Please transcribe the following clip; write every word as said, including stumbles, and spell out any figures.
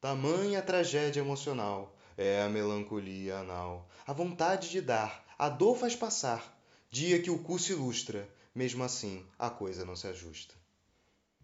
Tamanha tragédia emocional é a melancolia anal. A vontade de dar, a dor faz passar. Dia que o cu se ilustra, mesmo assim a coisa não se ajusta.